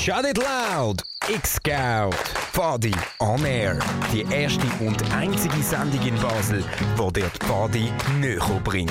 Shout it loud! X-Scout! Pfadi on Air. Die erste und einzige Sendung in Basel, die dir die Pfadi näher bringt.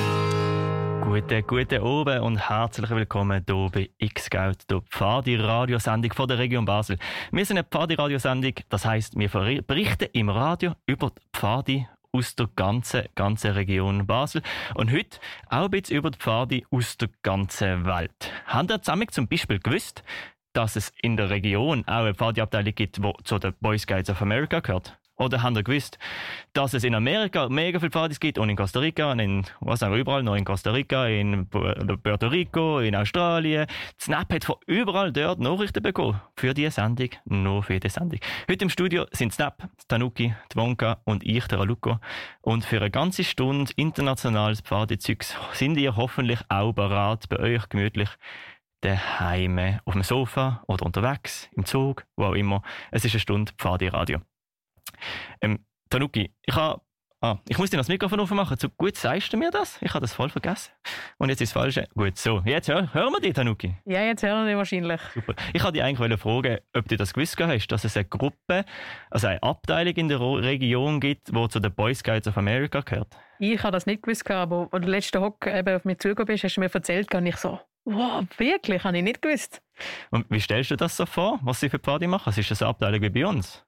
Guten Abend und herzlich willkommen hier bei X-Scout, der Pfadi-Radiosendung von der Region Basel. Wir sind eine Pfadi-Radiosendung, das heisst, wir berichten im Radio über die Pfadi aus der ganzen Region Basel. Und heute auch ein bisschen über die Pfadi aus der ganzen Welt. Habt ihr zusammen zum Beispiel gewusst, dass es in der Region auch eine Pfadi-Abteilung gibt, die zu den Boy Scouts of America gehört? Oder habt ihr gewusst, dass es in Amerika mega viele Pfadis gibt und in Costa Rica, überall noch in Costa Rica, in Puerto Rico, in Australien. Die Snap hat von überall dort Nachrichten bekommen. Für diese Sendung, nur für diese Sendung. Heute im Studio sind Snap, Tanuki, Wonka und ich, der Aluko. Und für eine ganze Stunde internationales Pfadi-Zeugs sind ihr hoffentlich auch bereit, bei euch gemütlich daheim, auf dem Sofa oder unterwegs, im Zug, wo auch immer. Es ist eine Stunde Pfadi-Radio. Tanuki, ich muss dir das Mikrofon aufmachen. So gut sagst du mir das? Ich habe das voll vergessen. Und jetzt ist das Falsche. Gut, so. Jetzt hören wir dich, Tanuki. Ja, jetzt hören wir dich wahrscheinlich. Super. Ich wollte dich eigentlich fragen, ob du das gewusst hast, dass es eine Gruppe, also eine Abteilung in der Region gibt, die zu den Boy Scouts of America gehört. Ich habe das nicht gewusst, aber als du letzten Hock auf mich zugekommen bist, hast du mir erzählt, und ich so, wow, wirklich? Habe ich nicht gewusst. Und wie stellst du das so vor, was sie für Party machen? Ist das eine Abteilung wie bei uns?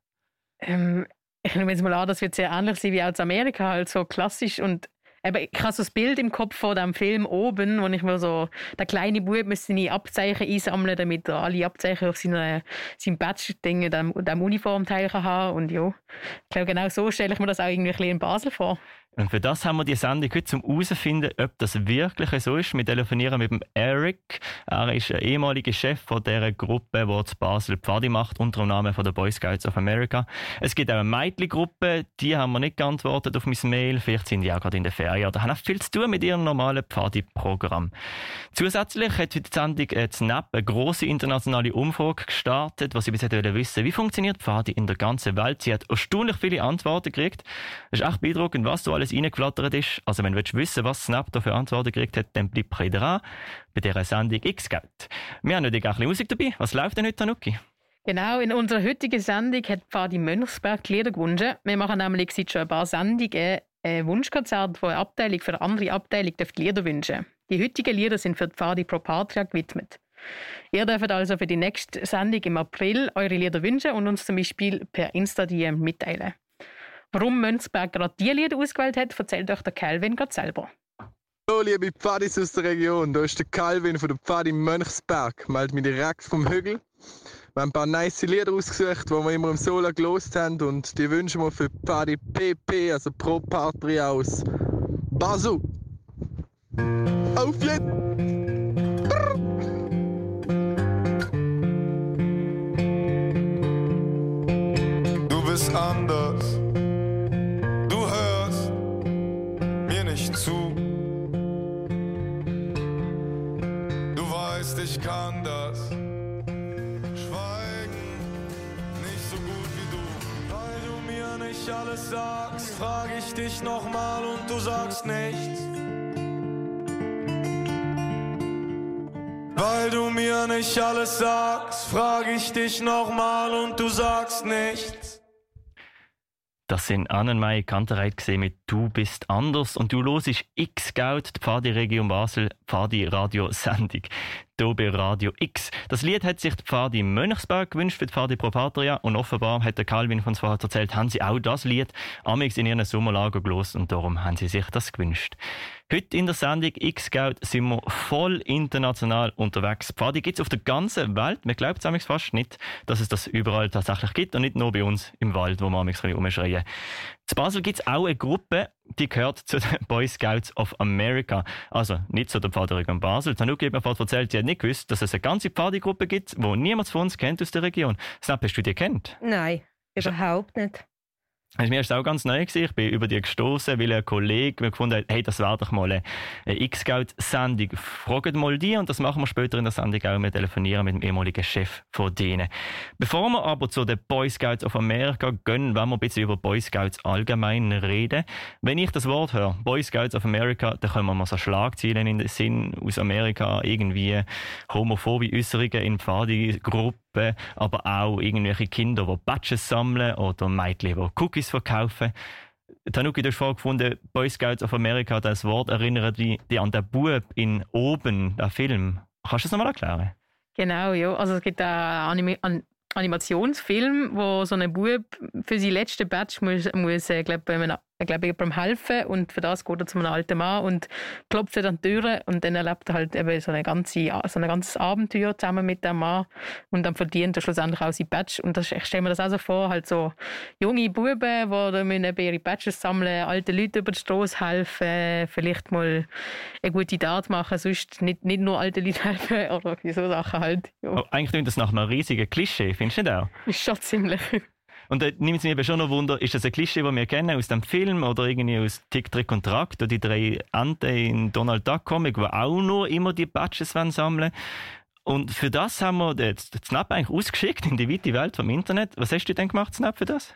Ich nehme jetzt mal an, das wird sehr ähnlich sein wie aus Amerika, halt so klassisch. Und ich habe so das Bild im Kopf von dem Film oben, wo ich mir so, der kleine Bub müsste seine Abzeichen einsammeln, damit er alle Abzeichen auf seinem Badge-Ding, dem Uniformteil haben. Und ja, ich glaube, genau so stelle ich mir das auch irgendwie ein bisschen in Basel vor. Und für das haben wir die Sendung heute, zum herauszufinden, ob das wirklich so ist. Wir telefonieren mit dem Eric. Er ist ein ehemaliger Chef von dieser Gruppe, die zu Basel Pfadi macht, unter dem Namen von den Boy Scouts of America. Es gibt auch eine Mädchengruppe, die haben wir nicht geantwortet auf mein Mail. Vielleicht sind die auch gerade in der Ferien oder haben auch viel zu tun mit ihrem normalen Pfadi-Programm. Zusätzlich hat heute die Sendung Snap eine grosse internationale Umfrage gestartet, was sie bis jetzt wissen wollen. Wie funktioniert Pfadi in der ganzen Welt? Sie hat erstaunlich viele Antworten gekriegt. Es ist echt beeindruckend, was so alles reingeflattert ist. Also wenn du wissen willst, was Snap da für Antworten gekriegt hat, dann bleib dran bei dieser Sendung X-Scout. Wir haben natürlich auch ein bisschen Musik dabei. Was läuft denn heute, Tanuki? Genau, in unserer heutigen Sendung hat Pfadi Mönchsberg die Lieder gewünscht. Wir machen nämlich seit schon ein paar Sendungen ein Wunschkonzert, wo eine Abteilung für eine andere Abteilung die Lieder wünschen. Die heutigen Lieder sind für die Pfadi Pro Patria gewidmet. Ihr dürft also für die nächste Sendung im April eure Lieder wünschen und uns zum Beispiel per Insta-DM mitteilen. Warum Mönchsberg gerade diese Lieder ausgewählt hat, erzählt euch der Calvin gerade selber. Hallo liebe Pfadis aus der Region, da ist der Calvin von der Pfadi Mönchsberg. Meld mich direkt vom Hügel. Wir haben ein paar nice Lieder ausgesucht, die wir immer im Sola gelost haben und die wünschen wir für die Pfadi PP, also Pro Patria aus Basel. Auf jetzt! Du bist anders. Zu. Du weißt, ich kann das Schweigen nicht so gut wie du. Weil du mir nicht alles sagst, frag ich dich nochmal und du sagst nichts. Weil du mir nicht alles sagst, frag ich dich nochmal und du sagst nichts. Das sind Annenmai Kantereit mit «Du bist anders» und du hörst X-Scout, die Pfadi-Region Basel, Pfadi-Radio-Sendung, hier bei Radio X. Das Lied hat sich die Pfadi Mönchsberg gewünscht für die Pfadi Pro Patria und offenbar hat der Calvin von uns vorher erzählt, haben sie auch das Lied amigs in ihren Sommerlager gelost und darum haben sie sich das gewünscht. Heute in der Sendung X-Scout sind wir voll international unterwegs. Pfadi gibt es auf der ganzen Welt. Man glaubt es fast nicht, dass es das überall tatsächlich gibt und nicht nur bei uns im Wald, wo wir amigs rumschreien. In Basel gibt es auch eine Gruppe, die gehört zu den Boy Scouts of America. Also nicht zu der Pfadi-Region Basel. Tanuki hat mir vorhin erzählt, sie hat nicht gewusst, dass es eine ganze Pfadi-Gruppe gibt, die niemand von uns kennt aus der Region. Snap, hast du die kennt? Nein, überhaupt nicht. Mir war es auch ganz neu. Ich bin über die gestoßen, weil ein Kollege mir gefunden hat, hey, das wäre doch mal eine X-Scout-Sendung. Fragt mal die und das machen wir später in der Sendung auch. Wir telefonieren mit dem ehemaligen Chef von denen. Bevor wir aber zu den Boy Scouts of America gehen, wollen wir ein bisschen über Boy Scouts allgemein reden. Wenn ich das Wort höre, Boy Scouts of America, dann kommen wir so Schlagzeilen in den Sinn aus Amerika, irgendwie homophobe Äußerungen in Pfadi-Gruppen, aber auch irgendwelche Kinder, die Badges sammeln oder Mädchen, die Cookies verkaufen. Tanuki, du hast vorgefunden, Boy Scouts of America, das Wort erinnert dich an den Bub in «Oben», den Film. Kannst du das nochmal erklären? Genau, ja. Also es gibt einen Animationsfilm, wo so ein Bub für sein letztes Badge muss jemandem helfen und für das geht er zu einem alten Mann und klopft an die Türe und dann erlebt er halt eben so ein ganzes Abenteuer zusammen mit dem Mann und dann verdient er schlussendlich auch sein Badge. Und ich stelle mir das auch so vor, halt so junge Buben, die ihre Badges sammeln, alten Leuten über die Straße helfen, vielleicht mal eine gute Tat machen, sonst nicht nur alte Leute helfen oder so Sachen halt. Ja. Oh, eigentlich klingt das nach einem riesigen Klischee, findest du nicht auch? Ist schon ziemlich. Und da nimmt es mich eben schon noch Wunder, ist das ein Klischee, das wir kennen aus dem Film oder irgendwie aus Tick, Trick und Track, die 3 Enten in Donald Duck Comic, die auch nur immer die Badges sammeln wollen. Und für das haben wir den Snap eigentlich ausgeschickt in die weite Welt vom Internet. Was hast du denn gemacht, Snap, für das?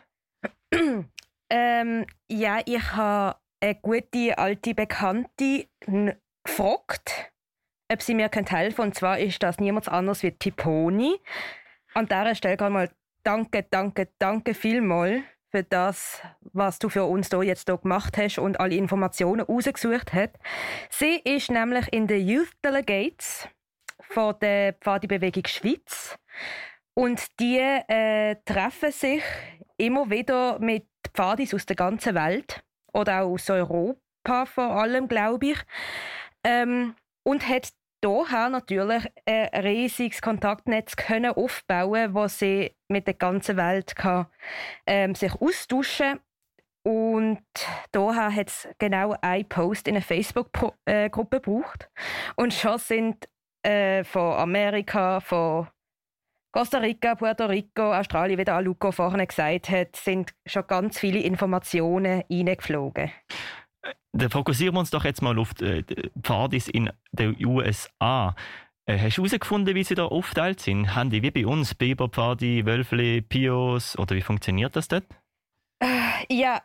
Ja, ich habe eine gute alte Bekannte gefragt, ob sie mir helfen kann. Und zwar ist das niemand anderes wie Tiponi. An dieser Stelle kann mal danke vielmals für das, was du für uns hier gemacht hast und alle Informationen rausgesucht hast. Sie ist nämlich in den Youth Delegates von der Pfadi-Bewegung Schweiz und die treffen sich immer wieder mit Pfadis aus der ganzen Welt oder auch aus Europa vor allem, glaube ich, und hat daher natürlich ein riesiges Kontaktnetz können aufbauen, wo sie mit der ganzen Welt kann, sich austauschen. Und daher hat es genau einen Post in einer Facebook-Gruppe gebraucht. Und schon sind von Amerika, von Costa Rica, Puerto Rico, Australien, wie der Aluko vorhin gesagt hat, sind schon ganz viele Informationen reingeflogen. Dann fokussieren wir uns doch jetzt mal auf die Pfadis in den USA. Hast du herausgefunden, wie sie da aufgeteilt sind? Haben die wie bei uns Biberpfadi, Wölfli, Pios oder wie funktioniert das dort? Ja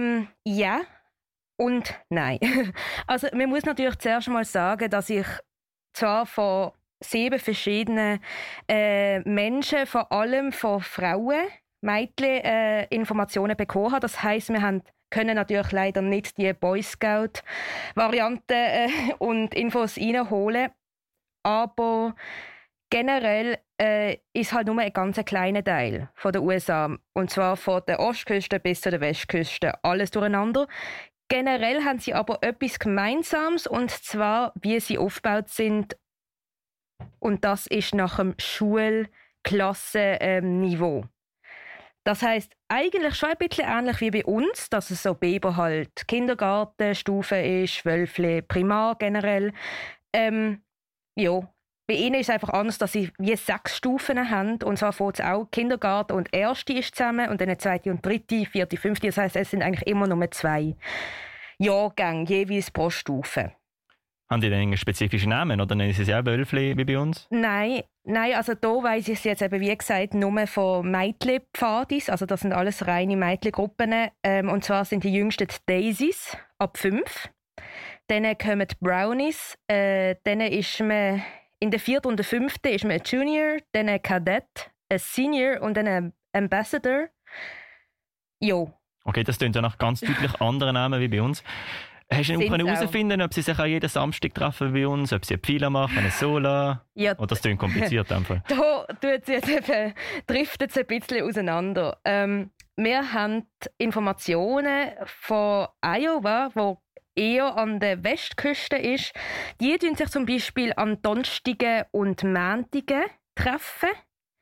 und nein. Also man muss natürlich zuerst mal sagen, dass ich zwar von 7 verschiedenen Menschen, vor allem von Frauen, Mädchen, Informationen bekommen habe. Das heisst, wir können natürlich leider nicht die Boy Scout-Variante und Infos reinholen. Aber generell ist halt nur ein ganz kleiner Teil von der USA. Und zwar von der Ostküste bis zu der Westküste. Alles durcheinander. Generell haben sie aber etwas Gemeinsames, und zwar, wie sie aufgebaut sind. Und das ist nach dem Schulklassenniveau. Das heisst, eigentlich schon ein bisschen ähnlich wie bei uns, dass es so Biber halt Kindergartenstufe ist, Wölfli, Primar generell. Ja, bei ihnen ist es einfach anders, dass sie wie 6 Stufen haben. Und zwar fängt es auch Kindergarten und Erste ist zusammen und dann 2. und 3., 4., 5. Das heisst, es sind eigentlich immer nur 2 Jahrgänge, jeweils pro Stufe. Haben die denn einen spezifischen Namen oder nennen sie es auch Wölfli wie bei uns? Nein, also da weiss ich es jetzt eben, wie gesagt, nur von Mädchen-Pfadis. Also das sind alles reine Mädchengruppen. Und zwar sind die jüngsten die Daisies ab 5. Dann kommen die Brownies. Dann ist man in der 4. und der 5. ist man ein Junior, dann ein Kadett, ein Senior und dann ein Ambassador. Jo. Okay, das klingt ja nach ganz deutlich anderen Namen wie bei uns. Hast du herausfinden, ob sie sich auch jeden Samstag treffen bei uns, ob sie eine Pfeile machen, eine Sola? Ja. Oder das klingt kompliziert einfach. Da driftet es ein bisschen auseinander. Wir haben Informationen von Iowa, wo eher an der Westküste ist. Die treffen sich zum Beispiel an Donnerstagen und Montagen treffen.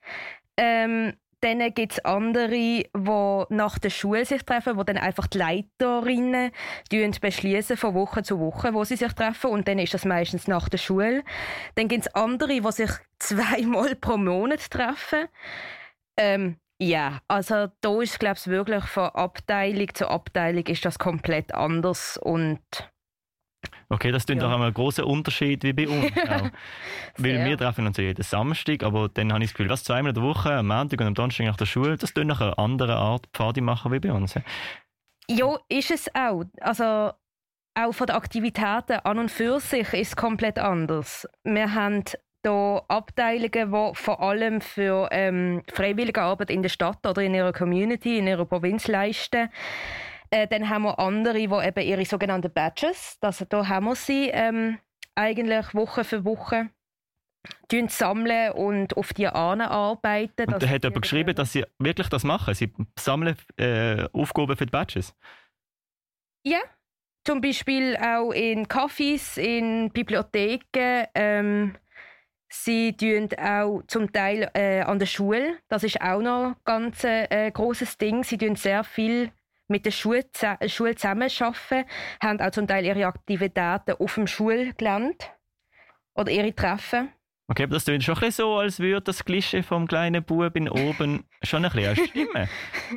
Dann gibt es andere, die nach der Schule sich treffen, wo dann einfach die Leiterinnen beschließen von Woche zu Woche, wo sie sich treffen. Und dann ist das meistens nach der Schule. Dann gibt es andere, die sich 2-mal pro Monat treffen. Ja, also da ist, glaube ich, wirklich von Abteilung zu Abteilung ist das komplett anders und Okay, das klingt doch einmal ein grosser Unterschied wie bei uns auch. Weil wir treffen uns ja jeden Samstag, aber dann habe ich das Gefühl, was 2-mal in der Woche, am Montag und am Donnerstag nach der Schule, das klingt nach einer anderen Art Pfadi machen wie bei uns. ja, ist es auch. Also auch von den Aktivitäten an und für sich ist es komplett anders. Wir haben hier Abteilungen, die vor allem für freiwillige Arbeit in der Stadt oder in ihrer Community, in ihrer Provinz leisten. Dann haben wir andere, die eben ihre sogenannten Badges, also da haben wir sie eigentlich Woche für Woche sammeln und auf die arbeiten. Und da hat jemand geschrieben, dass sie wirklich das machen. Sie sammeln Aufgaben für die Badges. Ja, zum Beispiel auch in Cafés, in Bibliotheken. Sie tun auch zum Teil an der Schule. Das ist auch noch ein ganz grosses Ding. Sie tun sehr viel mit der Schule zusammenarbeiten, haben auch zum Teil ihre Aktivitäten auf dem Schulgelände oder ihre Treffen. Okay, aber das klingt schon ein bisschen so, als würde das Klischee vom kleinen Buben oben schon ein bisschen stimmen.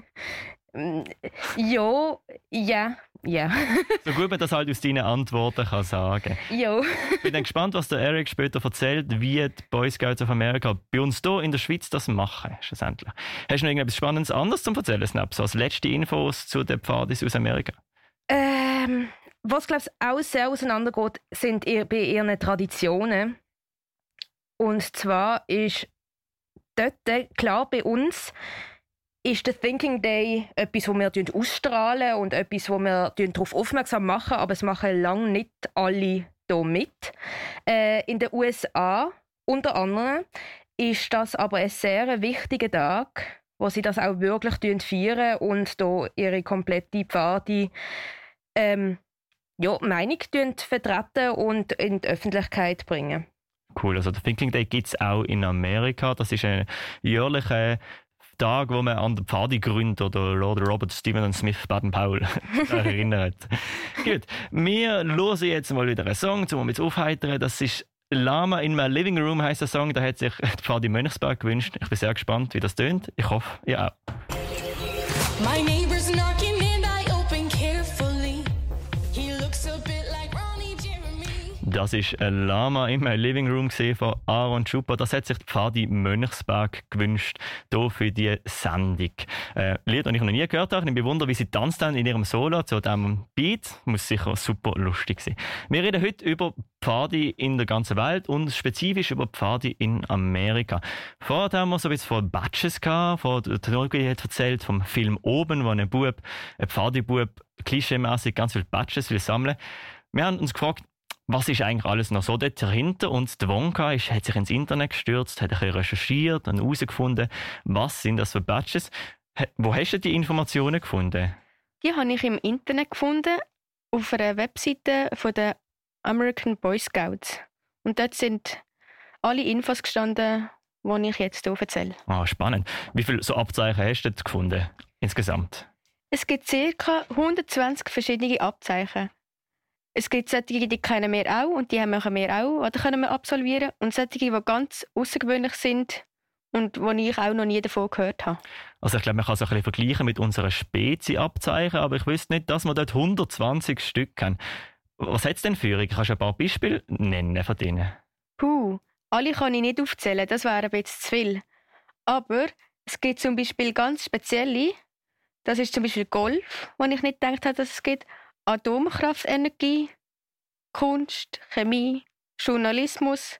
Ja. So gut man das halt aus deinen Antworten kann sagen. Ja. Ich bin dann gespannt, was der Eric später erzählt, wie die Boy Scouts of America bei uns hier in der Schweiz das machen, schlussendlich. Hast du noch irgendetwas Spannendes anderes zu erzählen, Snap? So als letzte Infos zu den Pfadis aus Amerika? Was, glaube ich, auch sehr auseinandergeht, sind bei ihren Traditionen. Und zwar ist dort, klar, bei uns ist der Thinking Day etwas, wo wir ausstrahlen und etwas, wo wir darauf aufmerksam machen, aber es machen lange nicht alle hier mit. In den USA unter anderem ist das aber ein sehr wichtiger Tag, wo sie das auch wirklich feiern und hier ihre komplette Pfadi Meinung vertreten und in die Öffentlichkeit bringen. Cool, also der Thinking Day gibt es auch in Amerika. Das ist ein jährlicher Tag, wo man an den Pfadi-Gründer oder Lord Robert Stephen Smith Baden-Powell erinnert. Gut, wir hören jetzt mal wieder einen Song, um uns aufheitern. Das ist Lama in my living room heisst der Song. Da hat sich die Pfadi Mönchsberg gewünscht. Ich bin sehr gespannt, wie das tönt. Ich hoffe, ihr auch. My neighbor's knocking and I open carefully. He looks a bit like Ronnie Jeremy. Das ist ein Lama in my living room von Aaron Schupa. Das hat sich die Pfadi Mönchsberg gewünscht, hier für die Sendung. Lied, das ich noch nie gehört habe. Ich bewundere, wie sie tanzt in ihrem Solo zu diesem Beat. Muss sicher super lustig sein. Wir reden heute über Pfadi in der ganzen Welt und spezifisch über Pfadi in Amerika. Vorher haben wir so ein bisschen von Badges gehabt. Der Norgi hat erzählt vom Film «Oben», wo ein Pfadi-Bub, klischeemässig ganz viele Badges will sammeln. Wir haben uns gefragt, was ist eigentlich alles noch so dort dahinter? Und der Wonka hat sich ins Internet gestürzt, hat ein bisschen recherchiert und herausgefunden, was sind das für Badges. Wo hast du die Informationen gefunden? Die habe ich im Internet gefunden, auf einer Webseite von der American Boy Scouts. Und dort sind alle Infos gestanden, die ich jetzt hier erzähle. Ah, spannend. Wie viele so Abzeichen hast du dort gefunden insgesamt? Es gibt ca. 120 verschiedene Abzeichen. Es gibt solche, die kennen wir auch und die machen wir auch oder können wir absolvieren. Und solche, die ganz außergewöhnlich sind und wo ich auch noch nie davon gehört habe. Also ich glaube, man kann es ein bisschen vergleichen mit unseren Spezi-Abzeichen, aber ich wüsste nicht, dass wir dort 120 Stück haben. Was hat es denn für? Kannst du ein paar Beispiele nennen von denen? Alle kann ich nicht aufzählen, das wäre ein bisschen zu viel. Aber es gibt zum Beispiel ganz spezielle, das ist zum Beispiel Golf, wo ich nicht gedacht habe, dass es gibt. Atomkraftenergie, Kunst, Chemie, Journalismus,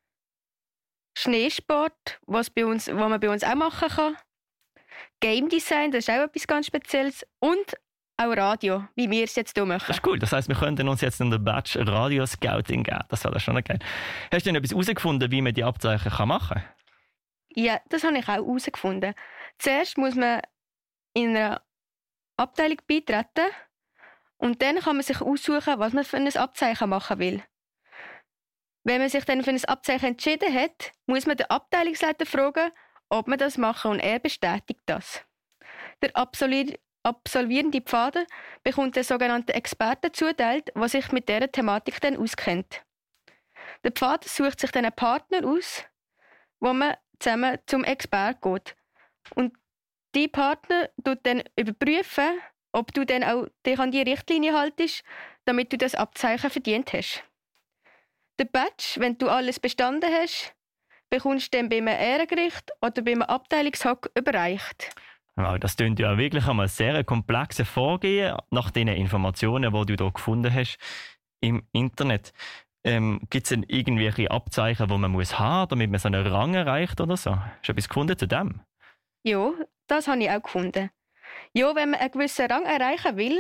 Schneesport, was man bei uns auch machen kann, Game Design, das ist auch etwas ganz Spezielles und auch Radio, wie wir es jetzt hier machen. Das ist cool, das heisst, wir könnten uns jetzt in der Batch Radio Scouting geben, das wäre schon geil. Hast du denn etwas herausgefunden, wie man die Abzeichen machen kann? Ja, das habe ich auch herausgefunden. Zuerst muss man in einer Abteilung beitreten. Und dann kann man sich aussuchen, was man für ein Abzeichen machen will. Wenn man sich dann für ein Abzeichen entschieden hat, muss man den Abteilungsleiter fragen, ob man das machen und er bestätigt das. Der absolvierende Pfader bekommt den sogenannten Experten zuteilt, der sich mit dieser Thematik dann auskennt. Der Pfader sucht sich dann einen Partner aus, wo man zusammen zum Experten geht. Und dein Partner tut dann überprüfen, ob du dann auch dich an die Richtlinie haltest, damit du das Abzeichen verdient hast. Der Badge, wenn du alles bestanden hast, bekommst du dann beim Ehrengericht oder beim Abteilungshock überreicht. Wow, das klingt ja wirklich einmal sehr komplexes Vorgehen nach den Informationen, die du hier gefunden hast im Internet. Gibt es denn irgendwelche Abzeichen, die man muss haben, damit man so einen Rang erreicht oder so? Hast du etwas gefunden zu dem? Ja, das habe ich auch gefunden. Ja, wenn man einen gewissen Rang erreichen will,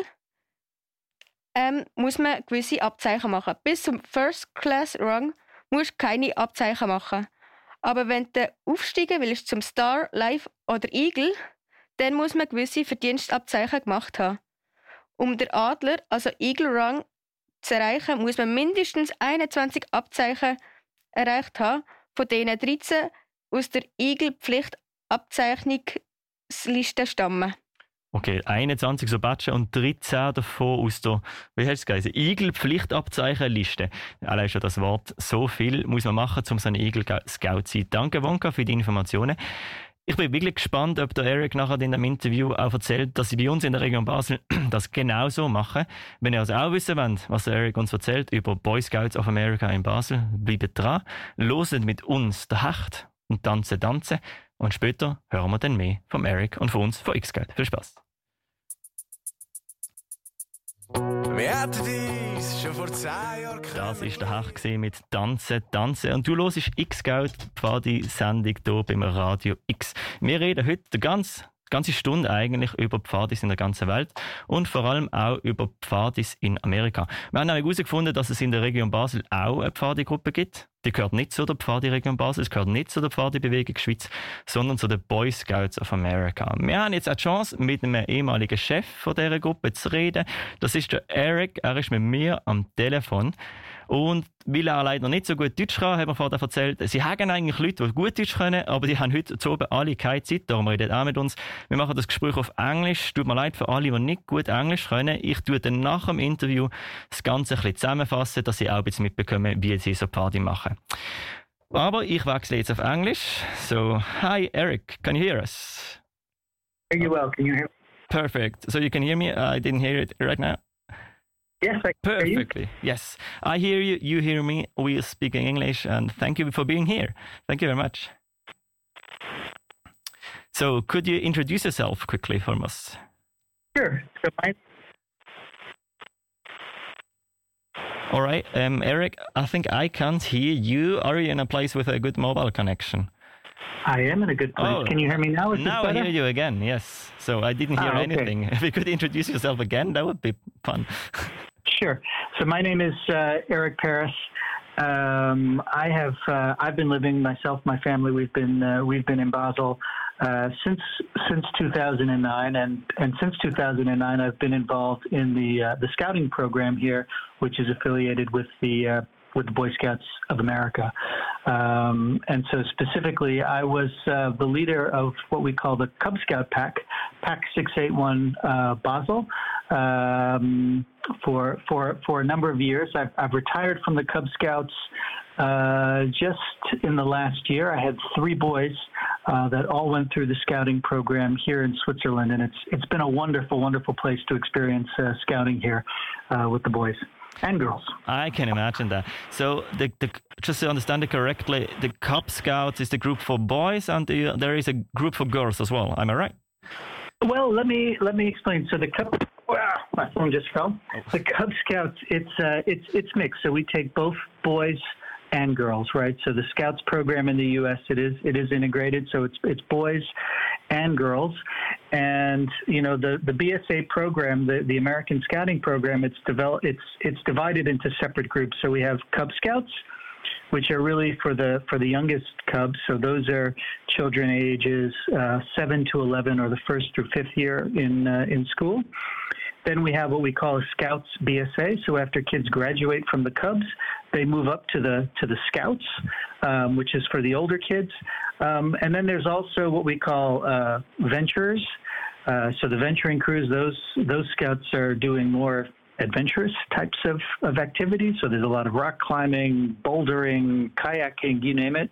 muss man gewisse Abzeichen machen. Bis zum First-Class-Rang musst du keine Abzeichen machen. Aber wenn du aufsteigen willst zum Star, Live oder Eagle, dann muss man gewisse Verdienstabzeichen gemacht haben. Um den Adler, also Eagle-Rang, zu erreichen, muss man mindestens 21 Abzeichen erreicht haben, von denen 13 aus der Eagle-Pflichtabzeichnungsliste stammen. Okay, 21 so Badge und 13 davon aus der, wie heißt es geheißen, Eagle-Pflichtabzeichenliste. Allein schon das Wort, so viel muss man machen, um so ein Eagle-Scout zu sein. Danke, Wonka, für die Informationen. Ich bin wirklich gespannt, ob der Eric nachher in dem Interview auch erzählt, dass sie bei uns in der Region Basel das genauso machen. Wenn ihr also auch wissen wollt, was der Eric uns erzählt über Boy Scouts of America in Basel, bleibt dran, hört mit uns den Hecht und tanzen. Und später hören wir dann mehr vom Eric und von uns, von X-Scout. Viel Spaß! Wir hatten dies schon vor 10 Jahren. Das war der Hecht mit Tanzen. Und du hörst X-Scout, die Pfadi-Sendung hier beim Radio X. Wir reden heute die ganze Stunde eigentlich über Pfadis in der ganzen Welt und vor allem auch über Pfadis in Amerika. Wir haben herausgefunden, dass es in der Region Basel auch eine Pfadi-Gruppe gibt. Die gehört nicht zu der Pfadi-Region Basel, es gehört nicht zu der Pfadi-Bewegung Schweiz, sondern zu den Boy Scouts of America. Wir haben jetzt auch die Chance, mit einem ehemaligen Chef von dieser Gruppe zu reden. Das ist der Eric, er ist mit mir am Telefon. Und weil er leider nicht so gut Deutsch kann, hat er vorher erzählt, sie haben eigentlich Leute, die gut Deutsch können, aber die haben heute zu oben alle keine Zeit, darum redet er auch mit uns. Wir machen das Gespräch auf Englisch. Tut mir leid für alle, die nicht gut Englisch können. Ich tue dann nach dem Interview das Ganze ein bisschen zusammenfassen, dass sie auch ein bisschen mitbekommen, wie sie so Party machen. Aber ich wechsle jetzt auf Englisch. So, hi Eric, can you hear us? Very well. Can you hear me? Perfect. So you can hear me? I didn't hear it right now. Yes, I can hear you. Perfectly. Yes, I hear you. You hear me. We are speaking English, and thank you for being here. Thank you very much. So, could you introduce yourself quickly for us? Sure. So All right, Eric. I think I can't hear you. Are you in a place with a good mobile connection? I am in a good place. Oh, Can you hear me now? Is this now I better? hear you again. Yes. So I didn't hear okay. anything. If you could introduce yourself again, that would be fun. Sure. So my name is Eric Paris. I've been living myself, my family. We've been in Basel since 2009, and since 2009 I've been involved in the scouting program here, which is affiliated with the Boy Scouts of America. And so specifically, I was the leader of what we call the Cub Scout Pack 681 Basel. For a number of years, I've retired from the Cub Scouts just in the last year. I had 3 boys that all went through the scouting program here in Switzerland, and it's been a wonderful place to experience scouting here with the boys and girls. I can imagine that. So, just to understand it correctly, the Cub Scouts is the group for boys, and there is a group for girls as well. Am I right? Well, let me explain. So the Cub, my phone just fell. The Cub Scouts, it's mixed. So we take both boys and girls, right? So the Scouts program in the U.S. it is integrated. So it's boys and girls, and you know the BSA program, the American Scouting program, it's divided into separate groups. So we have Cub Scouts, which are really for the youngest cubs. So those are children ages 7 to 11, or the 1st through 5th year in school. Then we have what we call a Scouts BSA. So after kids graduate from the Cubs, they move up to the Scouts, which is for the older kids. And then there's also what we call venturers. So the venturing crews, those Scouts are doing more adventurous types of activities. So there's a lot of rock climbing, bouldering, kayaking, you name it.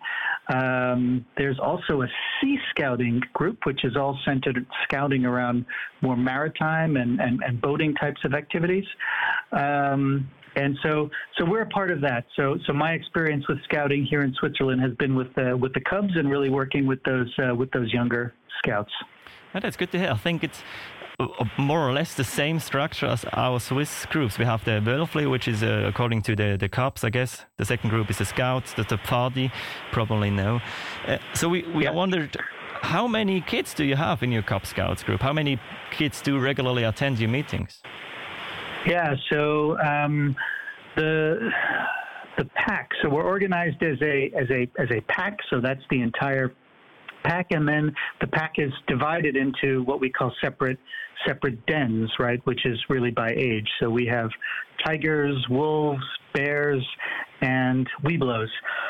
There's also a sea scouting group, which is all centered scouting around more maritime and boating types of activities. And so we're a part of that. So my experience with scouting here in Switzerland has been with the Cubs and really working with those younger scouts. Oh, that's good to hear. I think it's more or less the same structure as our Swiss groups. We have the Wölfli, which is according to the Cubs, I guess. The second group is the Scouts, the Pfadi, probably no. So we wondered, how many kids do you have in your Cub Scouts group? How many kids do regularly attend your meetings? Yeah, so the pack. So we're organized as a pack. So that's the entire pack, and then the pack is divided into what we call separate dens, right? Which is really by age. So we have tigers, wolves, bears, and webelos.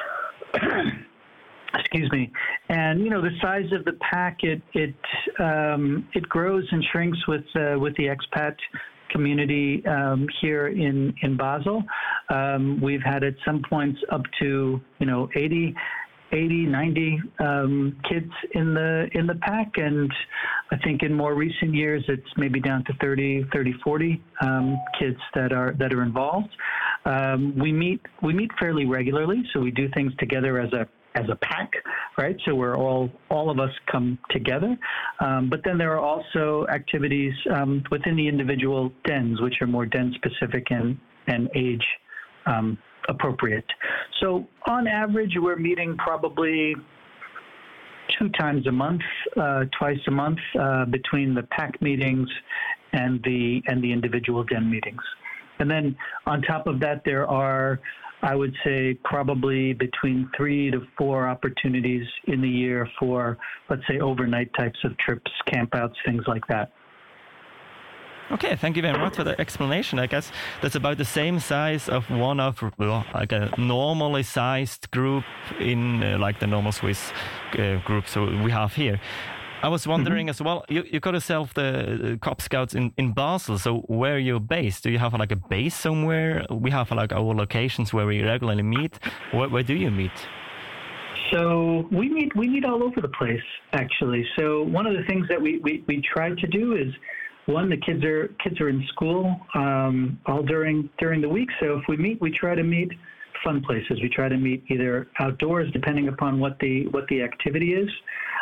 Excuse me. And the size of the pack it grows and shrinks with the expat community here in Basel. We've had at some points up to 80, 90 kids in the pack, and I think in more recent years it's maybe down to 30, 40 kids that are involved. We meet fairly regularly, so we do things together as a pack, right? So we're all of us come together. But then there are also activities within the individual dens, which are more den specific and age appropriate. So on average, we're meeting probably 2 times a month, twice a month, between the pack meetings and the individual den meetings. And then on top of that, there are, I would say, probably between 3 to 4 opportunities in the year for, let's say, overnight types of trips, campouts, things like that. Okay, thank you very much for the explanation. I guess that's about the same size of one of like a normally sized group in like the normal Swiss group so we have here. I was wondering as well, you got yourself the Cub Scouts in Basel, so where are you based? Do you have like a base somewhere? We have like our locations where we regularly meet. Where do you meet? So we meet all over the place, actually. So one of the things that we try to do is, one, the kids are in school all during the week. So if we meet, we try to meet fun places. We try to meet either outdoors, depending upon what the activity is.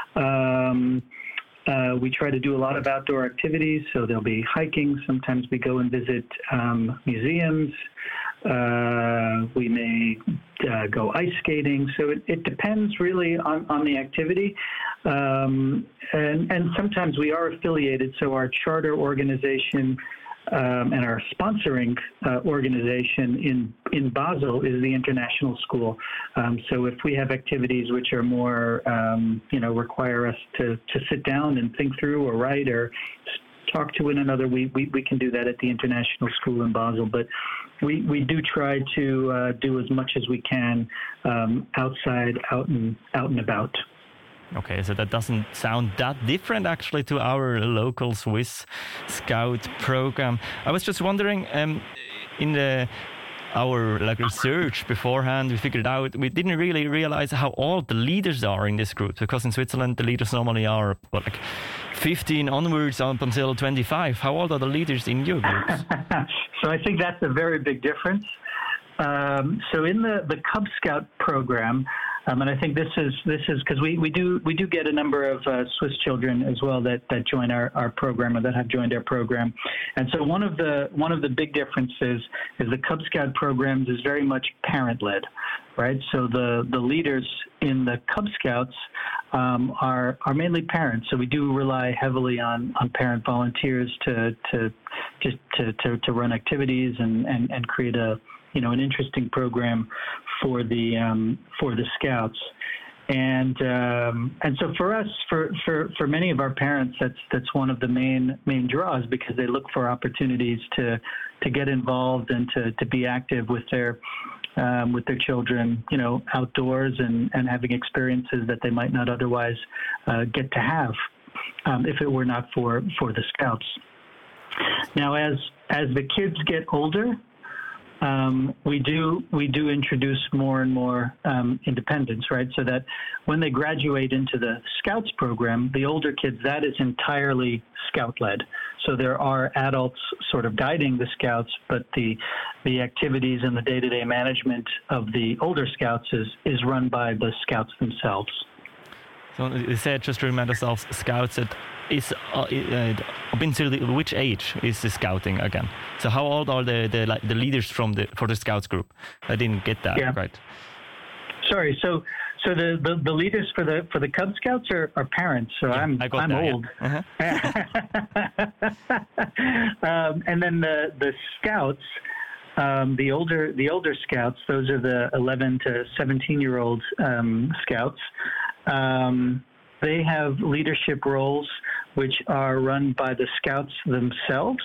We try to do a lot of outdoor activities. So there'll be hiking. Sometimes we go and visit museums. We may go ice skating. So it depends really on the activity. And sometimes we are affiliated. So our charter organization and our sponsoring organization in Basel is the International School. So if we have activities which are more, require us to sit down and think through or write or talk to one another, we can do that at the International School in Basel. But we do try to do as much as we can outside, out and about. Okay, so that doesn't sound that different actually to our local Swiss Scout program. I was just wondering, in our research beforehand, we figured out we didn't really realize how old the leaders are in this group, because in Switzerland the leaders normally are 15 onwards up until 25. How old are the leaders in your groups? So I think that's a very big difference. So in the Cub Scout program, and I think this is because we do get a number of Swiss children as well that join our program or that have joined our program, and so one of the big differences is the Cub Scout programs is very much parent led, right? So the leaders in the Cub Scouts are mainly parents. So we do rely heavily on parent volunteers to run activities and create an interesting program for the Scouts, and so for us, for many of our parents, that's one of the main draws, because they look for opportunities to get involved and to be active with their children, outdoors and having experiences that they might not otherwise get to have if it were not for the Scouts. Now, as the kids get older, we do introduce more and more independence, right? So that when they graduate into the Scouts program, the older kids, that is entirely Scout-led. So there are adults sort of guiding the Scouts, but the activities and the day-to-day management of the older Scouts is run by the Scouts themselves. So you said, just to remind ourselves, Scouts is up until which age is the Scouting again? So how old are the leaders for the Scouts group? I didn't get that right. Sorry, so the leaders for the Cub Scouts are parents. So I'm old. Yeah. And then the Scouts, the older Scouts, those are the 11 to 17-year-old Scouts. They have leadership roles which are run by the Scouts themselves,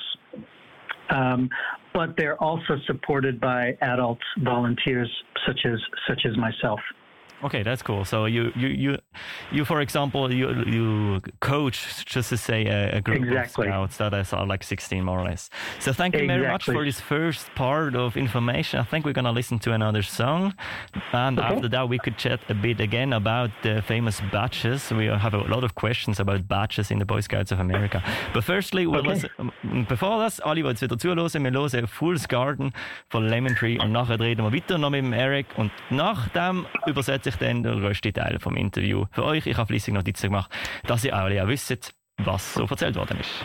but they're also supported by adult volunteers such as myself. Okay, that's cool. So you for example, you coach, just to say, a group of Scouts that are like 16 more or less. So thank you very much for this first part of information. I think we're gonna listen to another song, and after that we could chat a bit again about the famous badges. We have a lot of questions about badges in the Boy Scouts of America. But firstly, bevor das, alle, die jetzt wieder zuhören, wir hören Fool's Garden von Lemon Tree und nachher reden wir weiter noch mit dem Eric und nach dem übersetze ich dann den grössten Teil vom Interview für euch. Ich habe fleissig Notizen gemacht, dass ihr alle auch wisst, was so erzählt worden ist.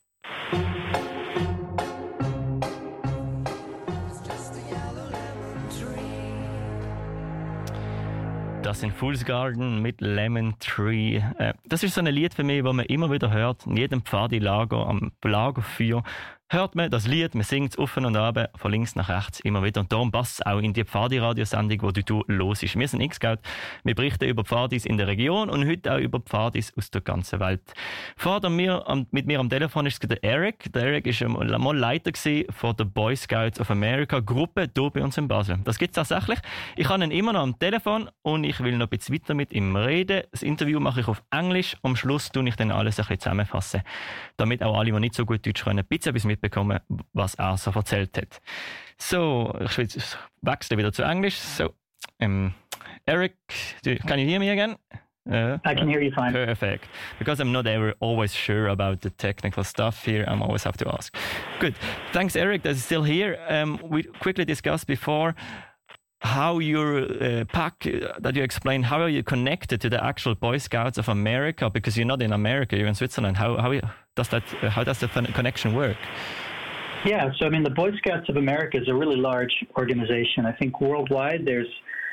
Das sind Fool's Garden mit Lemon Tree. Das ist so ein Lied für mich, das man immer wieder hört. In jedem Pfadi-Lager, am Lagerfeuer, hört man das Lied, man singt es auf und ab, von links nach rechts immer wieder. Und darum passt es auch in die Pfadi-Radiosendung, die du hörst. Wir sind X-Scout, wir berichten über Pfadis in der Region und heute auch über Pfadis aus der ganzen Welt. Mit mir am Telefon ist der Eric. Der Eric war mal Leiter von der Boy Scouts of America Gruppe hier bei uns in Basel. Das gibt es tatsächlich. Ich habe ihn immer noch am Telefon und ich will noch ein bisschen weiter mit ihm reden. Das Interview mache ich auf Englisch. Am Schluss tue ich dann alles ein bisschen zusammenfassen, damit auch alle, die nicht so gut Deutsch können, ein bisschen mitbekommen, was er so erzählt hat. So, ich wechsle wieder zu Englisch. So, Eric, can you hear me again? I can hear you fine. Perfect. Because I'm not always sure about the technical stuff here, I always have to ask. Good. Thanks, Eric, that is still here. We quickly discussed before how your pack that you explained, how are you connected to the actual Boy Scouts of America? Because you're not in America, you're in Switzerland. How does the connection work? Yeah, so I mean, the Boy Scouts of America is a really large organization. I think worldwide there's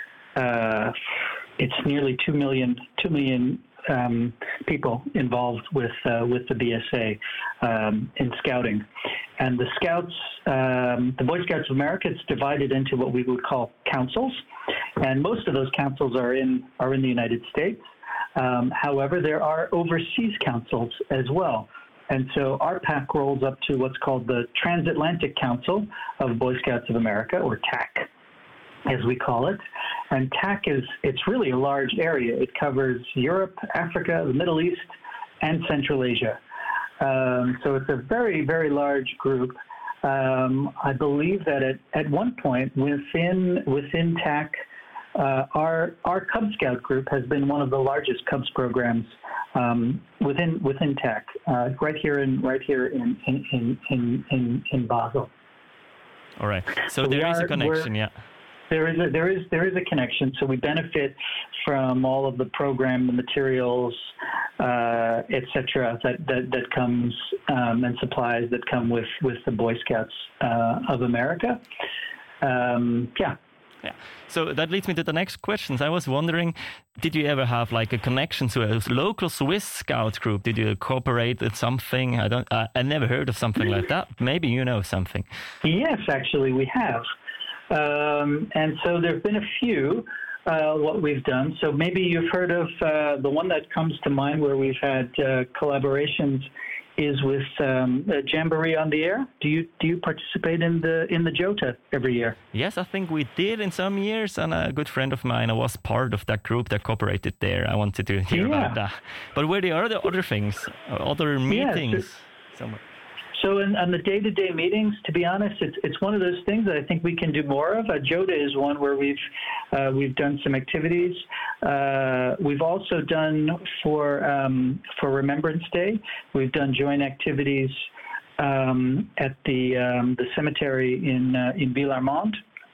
it's nearly 2 million people involved with the BSA in scouting. And the Scouts, the Boy Scouts of America, it's divided into what we would call councils, and most of those councils are in the United States. However, there are overseas councils as well. And so our pack rolls up to what's called the Transatlantic Council of Boy Scouts of America, or TAC, as we call it. And TAC it's really a large area. It covers Europe, Africa, the Middle East, and Central Asia. So it's a very, very large group. I believe that at one point within TAC, our Cub Scout group has been one of the largest Cubs programs within TAC, right here in Basel. All right. So there is a connection, yeah. There is a connection. So we benefit from all of the program, the materials, etc. that comes and supplies that come with the Boy Scouts of America. Yeah. So that leads me to the next questions. I was wondering, did you ever have like a connection to a local Swiss Scout group? Did you cooperate with something? I never heard of something like that. Maybe you know something. Yes, actually we have. And so there have been a few what we've done. So maybe you've heard of the one that comes to mind where we've had collaborations is with Jamboree on the Air. Do you participate in the Jota every year? Yes, I think we did in some years, and a good friend of mine was part of that group that cooperated there. I wanted to hear about that. But were there other things, other meetings? Somewhere? So on the day-to-day meetings, to be honest, it's one of those things that I think we can do more of. JOTA is one where we've done some activities. We've also done for Remembrance Day, we've done joint activities at the cemetery in Villarmond.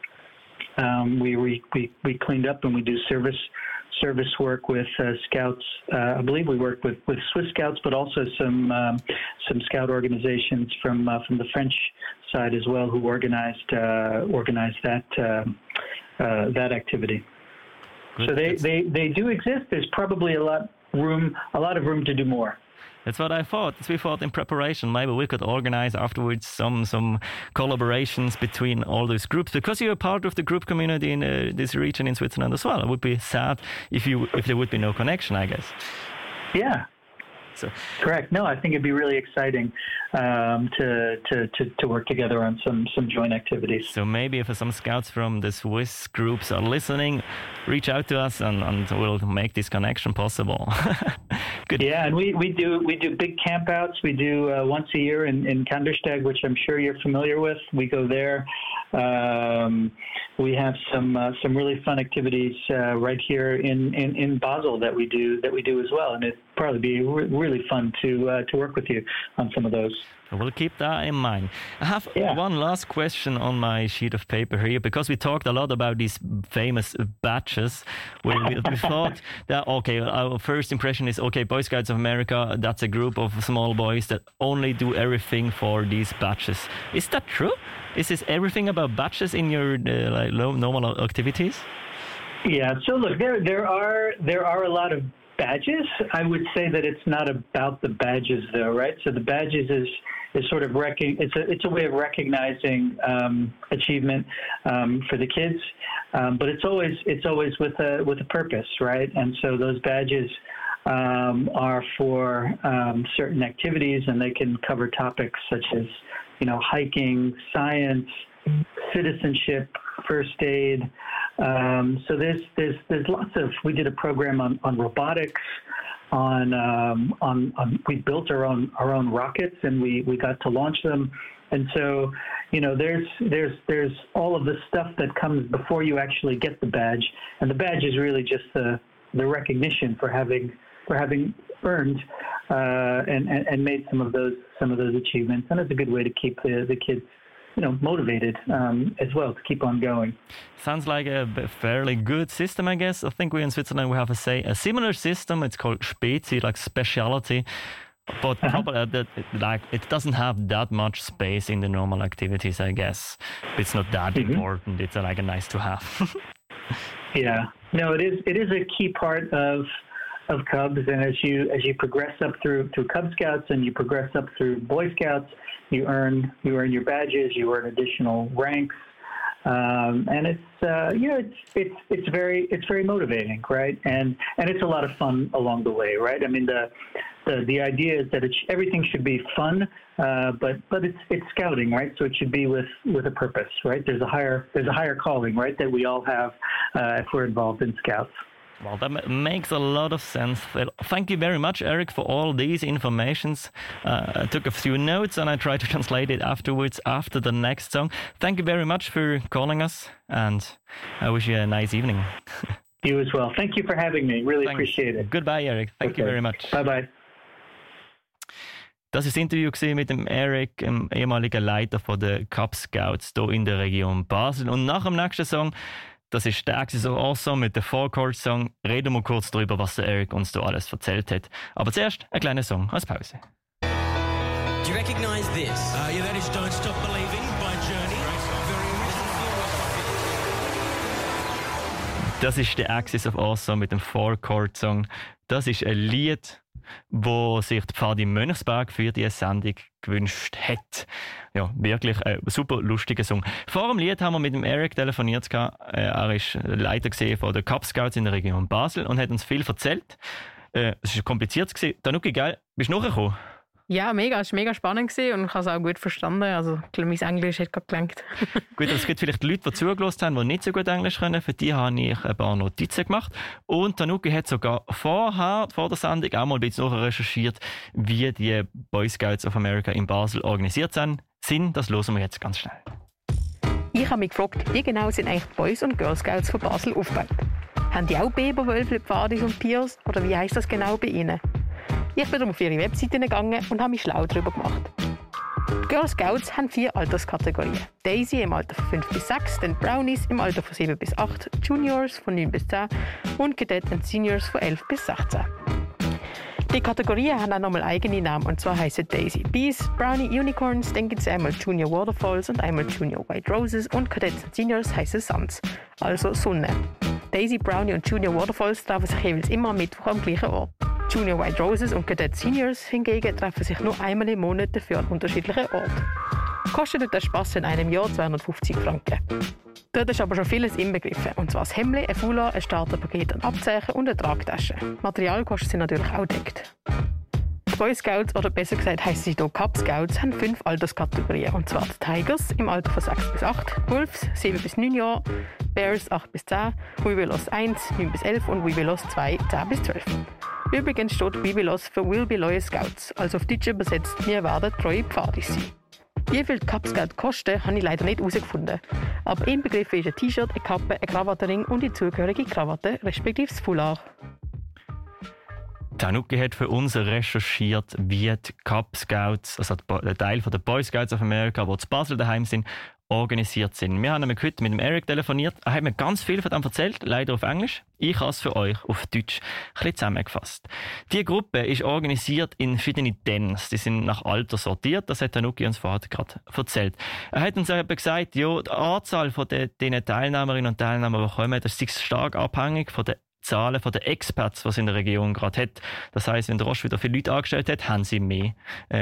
We cleaned up and we do service work with scouts. I believe we work with Swiss Scouts, but also some scout organizations from the French side as well, who organized that activity. Good. So they do exist. There's probably a lot of room to do more. That's what I thought. We thought in preparation, maybe we could organize afterwards some collaborations between all those groups, because you're part of the group community in this region in Switzerland as well. It would be sad if there would be no connection, I guess. Yeah. So correct. No, I think it'd be really exciting to work together on some joint activities. So maybe if some scouts from the Swiss groups are listening, reach out to us and we'll make this connection possible. Good. Yeah, and we do big campouts. We do once a year in Kandersteg, which I'm sure you're familiar with. We go there. We have some really fun activities right here in Basel that we do as well, and it'd probably be really fun to work with you on some of those. We'll keep that in mind. I have one last question on my sheet of paper here, because we talked a lot about these famous badges. We thought that, okay, our first impression is, okay, Boy Scouts of America, that's a group of small boys that only do everything for these badges. Is that true? Is this everything about badges in your normal activities? Yeah, so look, there are a lot of badges. I would say that it's not about the badges, though, right? So the badges is sort of it's a way of recognizing achievement for the kids, but it's always with a purpose, right? And so those badges are for certain activities, and they can cover topics such as hiking, science, citizenship, first aid. So there's lots of. We did a program on robotics. We built our own rockets, and we got to launch them. And so there's all of the stuff that comes before you actually get the badge, and the badge is really just the recognition for having earned and made some of those achievements, and it's a good way to keep the kids motivated as well to keep on going. Sounds like a fairly good system, I guess. I think we in Switzerland we have a similar system. It's called Spezi, like speciality, but probably it doesn't have that much space in the normal activities, I guess. It's not that important. It's like a nice to have. Yeah, no, it is a key part of Cubs, and as you progress up through Cub Scouts and you progress up through Boy Scouts, you earn your badges, you earn additional ranks, and it's very motivating, right? And it's a lot of fun along the way, right? I mean, the idea is that everything should be fun, but it's scouting, right? So it should be with a purpose, right? There's a higher calling, right, that we all have if we're involved in Scouts. Well, that makes a lot of sense. Well, thank you very much, Eric, for all these informations. I took a few notes and I tried to translate it afterwards after the next song. Thank you very much for calling us, and I wish you a nice evening. You as well. Thank you for having me. Really appreciate it. Goodbye, Eric. Thank you very much. Bye-bye. Das war das Interview mit dem Eric, dem ehemaligen Leiter der Cub Scouts hier in der Region Basel. Und nach dem nächsten Song, das ist der Axis of Awesome mit dem Four-Chord-Song, reden wir kurz darüber, was der Eric uns da alles erzählt hat. Aber zuerst ein kleiner Song als Pause. Do you recognize this? Yeah, that is Don't Stop Believing by Journey. Das ist der Axis of Awesome mit dem Four-Chord-Song. Das ist ein Lied, wo sich die Pfadi Mönchsberg für diese Sendung gewünscht hat. Ja, wirklich ein super lustiger Song. Vor dem Lied haben wir mit dem Eric telefoniert. Er ist Leiter von den Cub Scouts in der Region Basel und hat uns viel erzählt. Es war kompliziert. Danuki, geil, bist du nachgekommen? Ja, mega. Es war mega spannend gewesen und ich habe es auch gut verstanden. Also, ich glaube, mein Englisch hat gerade gelangt. Gut, es gibt vielleicht Leute, die zugelassen haben, die nicht so gut Englisch können. Für die habe ich ein paar Notizen gemacht. Und Tanuki hat sogar vor der Sendung auch mal ein bisschen recherchiert, wie die Boy Scouts of America in Basel organisiert sind. Das hören wir jetzt ganz schnell. Ich habe mich gefragt, wie genau sind eigentlich die Boys und Girl Scouts von Basel aufgebaut? Haben die auch Biber, Wölfli, Pfadis und Piers? Oder wie heisst das genau bei ihnen? Ich bin auf ihre Webseite gegangen und habe mich schlau darüber gemacht. Die Girl Scouts haben 4 Alterskategorien. Daisy im Alter von 5 bis 6, dann Brownies im Alter von 7 bis 8, Juniors von 9 bis 10 und Cadet und Seniors von 11 bis 16. Die Kategorien haben auch nochmal eigene Namen, und zwar heissen Daisy Bees, Brownie Unicorns, dann gibt es einmal Junior Waterfalls und einmal Junior White Roses und Cadets und Seniors heissen Suns, also Sonne. Daisy, Brownie und Junior Waterfalls treffen sich jeweils immer am Mittwoch am gleichen Ort. Junior White Roses und Cadet Seniors hingegen treffen sich nur einmal im Monat dafür an unterschiedlichen Orten. Kostet der Spass in einem Jahr 250 Franken. Dort ist aber schon vieles inbegriffen, und zwar das Hemd, ein Foulard, ein Starterpaket an Abzeichen und eine Tragtasche. Materialkosten sind natürlich auch deckt. Die Boy Scouts, oder besser gesagt heissen sie hier Cub Scouts, haben 5 Alterskategorien, und zwar die Tigers im Alter von 6 bis 8, Wolves 7 bis 9 Jahre, Bears 8 bis 10, Webelos 1 9 bis 11 und Webelos 2 10 bis 12. Übrigens steht Webelos für Will Be Loyal Scouts, also auf Deutsch übersetzt, wir werden treue Pfadis sein. Wie viel die Cub Scout kosten, habe ich leider nicht herausgefunden. Aber inbegriffen ist ein T-Shirt, eine Kappe, ein Krawattenring und die zugehörige Krawatte, respektive das Foulard. Tanuki hat für uns recherchiert, wie die Cub Scouts, also der Teil der Boy Scouts of America, die zu Basel daheim sind, organisiert sind. Wir haben nämlich heute mit dem Eric telefoniert. Er hat mir ganz viel von dem erzählt, leider auf Englisch. Ich habe es für euch auf Deutsch ein bisschen zusammengefasst. Die Gruppe ist organisiert in verschiedene Dens. Die sind nach Alter sortiert. Das hat Tanuki uns vorher gerade erzählt. Er hat uns eben gesagt, ja, die Anzahl von den Teilnehmerinnen und Teilnehmern, die kommen, das ist stark abhängig von den Zahlen der Expats, die es in der Region gerade hat. Das heisst, wenn der Roche wieder viele Leute angestellt hat, haben sie mehr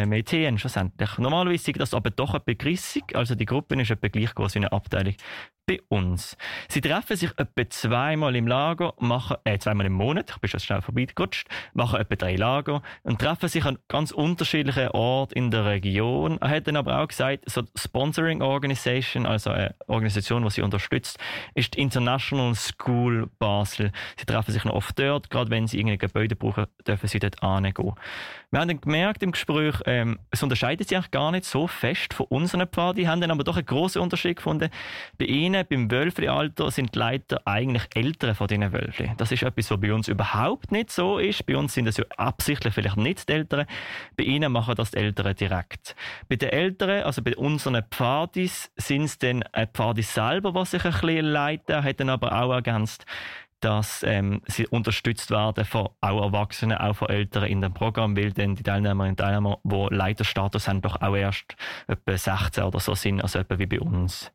TN schlussendlich. Normalerweise ist das aber doch etwa grissig, also die Gruppe ist etwa gleich groß wie eine Abteilung bei uns. Sie treffen sich etwa zweimal im Lager, zweimal im Monat, ich bin schon schnell vorbeigerutscht, machen etwa 3 Lager und treffen sich an ganz unterschiedlichen Orten in der Region. Er hat dann aber auch gesagt, so Sponsoring Organisation, also eine Organisation, die sie unterstützt, ist die International School Basel. Sie treffen sich noch oft dort, gerade wenn sie irgendein Gebäude brauchen, dürfen sie dort hingehen. Wir haben dann gemerkt im Gespräch, es unterscheidet sich eigentlich gar nicht so fest von unseren Pfadi, haben dann aber doch einen grossen Unterschied gefunden. Bei ihnen, beim Wölfli-Alter, sind die Leiter eigentlich Ältere von diesen Wölfli. Das ist etwas, was bei uns überhaupt nicht so ist. Bei uns sind es ja absichtlich vielleicht nicht die Älteren. Bei ihnen machen das die Älteren direkt. Bei den Älteren, also bei unseren Pfadis, sind es dann Pfadis selber, die sich ein bisschen leiten, hat dann aber auch ergänzt, dass sie unterstützt werden von auch Erwachsenen, auch von Älteren in dem Programm, weil dann die Teilnehmerinnen und Teilnehmer, die Leiterstatus haben, doch auch erst etwa 16 oder so sind, also etwa wie bei uns.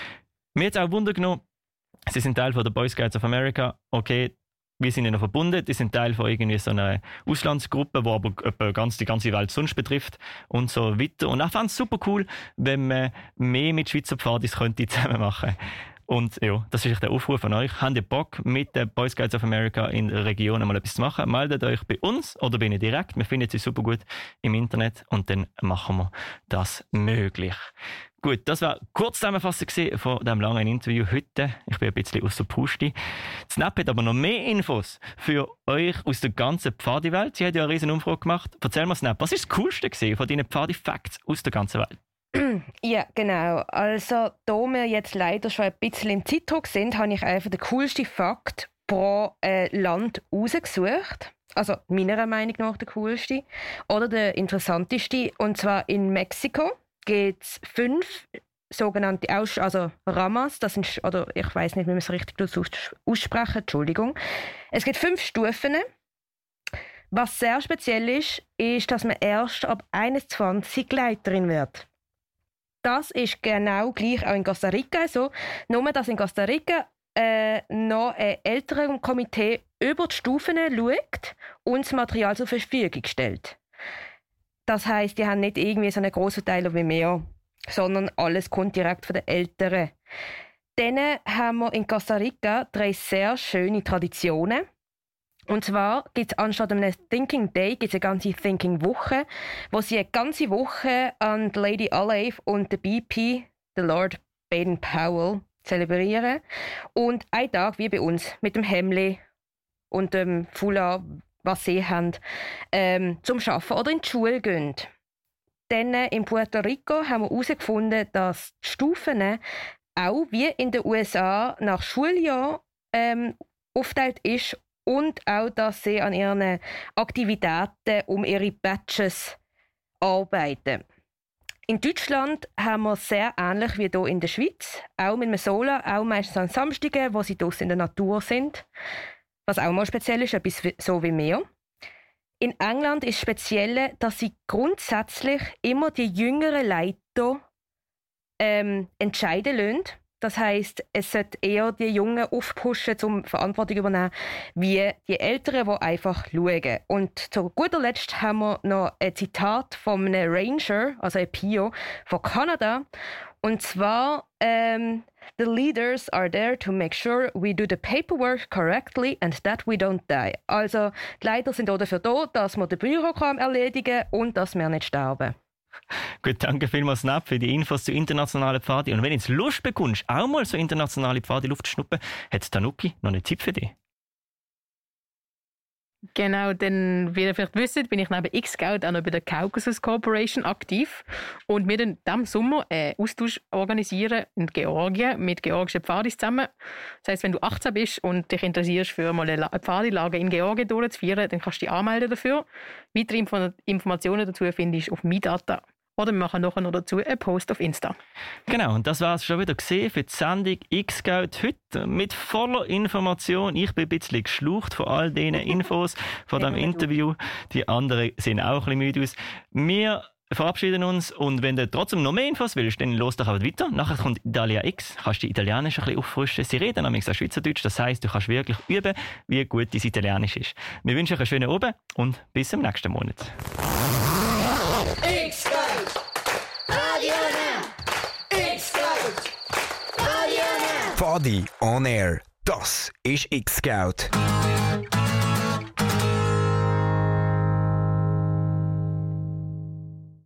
Mir hat es auch Wunder genommen, sie sind Teil von der Boy Scouts of America. Okay, wir sind ja noch verbunden, die sind Teil von irgendwie so einer Auslandsgruppe, die aber etwa die ganze Welt sonst betrifft und so weiter. Und ich fand es super cool, wenn man mehr mit Schweizer Pfadis könnte zusammen machen. Und ja, das ist der Aufruf an euch. Habt ihr Bock, mit den Boy Scouts of America in der Region mal etwas zu machen? Meldet euch bei uns oder bei ihnen direkt. Wir finden sie super gut im Internet und dann machen wir das möglich. Gut, das war kurz Zusammenfassung von diesem langen Interview heute. Ich bin ein bisschen aus der Puste. Snap hat aber noch mehr Infos für euch aus der ganzen Pfadi-Welt. Sie hat ja eine riesen Umfrage gemacht. Erzähl mal, Snap, was ist das Coolste von deinen Pfadi-Facts aus der ganzen Welt? Ja, genau. Also, da wir jetzt leider schon ein bisschen im Zeitdruck sind, habe ich einfach den coolsten Fakt pro Land rausgesucht. Also, meiner Meinung nach der coolste. Oder der interessanteste. Und zwar in Mexiko gibt es 5 sogenannte Ramas. Das sind, oder ich weiß nicht, wie man es richtig aussprechen. Entschuldigung. Es gibt 5 Stufen. Was sehr speziell ist, dass man erst ab 21 Leiterin wird. Das ist genau gleich auch in Costa Rica so. Nur, dass in Costa Rica noch ein älteres Komitee über die Stufen schaut und das Material zur Verfügung stellt. Das heisst, die haben nicht irgendwie so einen grossen Teil wie wir, sondern alles kommt direkt von den Älteren. Dann haben wir in Costa Rica 3 sehr schöne Traditionen. Und zwar gibt es anstatt einem Thinking Day gibt's eine ganze Thinking Woche, wo sie eine ganze Woche an die Lady Olive und den BP, den Lord Baden-Powell, zelebrieren. Und einen Tag, wie bei uns, mit dem Hemli und dem Foulard, was sie haben, zum Arbeiten oder in die Schule gehen. Dann in Puerto Rico haben wir herausgefunden, dass die Stufen auch wie in den USA nach Schuljahr aufgeteilt ist und auch, dass sie an ihren Aktivitäten um ihre Badges arbeiten. In Deutschland haben wir sehr ähnlich wie hier in der Schweiz, auch mit einem Sola, auch meistens an Samstagen, wo sie draussen in der Natur sind. Was auch mal speziell ist, etwas so wie wir. In England ist speziell, dass sie grundsätzlich immer die jüngeren Leiter entscheiden lassen. Das heisst, es sollte eher die Jungen aufpushen, um Verantwortung zu übernehmen, wie die Älteren, die einfach schauen. Und zu guter Letzt haben wir noch ein Zitat von einem Ranger, also ein Pio, von Kanada. Und zwar, the leaders are there to make sure we do the paperwork correctly and that we don't die. Also, die Leiter sind auch dafür da, dass wir den Bürokram erledigen und dass wir nicht sterben. Gut, danke vielmals, Snap, für die Infos zu internationalen Pfadi. Und wenn du jetzt Lust bekommst, auch mal so internationale Pfadi-Luft zu schnuppen, hat Tanuki noch einen Tipp für dich. Genau, denn wie ihr vielleicht wisst, bin ich neben X-Scout auch noch bei der Caucasus Corporation aktiv. Und wir dann diesem Sommer einen Austausch organisieren in Georgien mit georgischen Pfadis zusammen. Das heisst, wenn du 18 bist und dich interessierst, für mal eine Pfadilager in Georgien durchzuführen, dann kannst du dich anmelden dafür. Weitere Informationen dazu findest du auf MyData. Oder wir machen nachher noch dazu einen Post auf Insta. Genau, und das war es schon wieder gesehen für die Sendung X-Scout heute mit voller Information. Ich bin ein bisschen geschlaucht von all diesen Infos, von diesem Interview. Die anderen sehen auch ein bisschen müde aus. Wir verabschieden uns und wenn du trotzdem noch mehr Infos willst, dann los doch auch weiter. Nachher kommt Italia X, kannst du Italienisch ein bisschen auffrischen. Sie reden nämlich auch Schweizerdeutsch, das heisst, du kannst wirklich üben, wie gut dein Italienisch ist. Wir wünschen euch einen schönen Abend und bis zum nächsten Monat. X-Scout, Radio Now. X-Scout, Radio Now. Pfadi on Air, das ist X-Scout.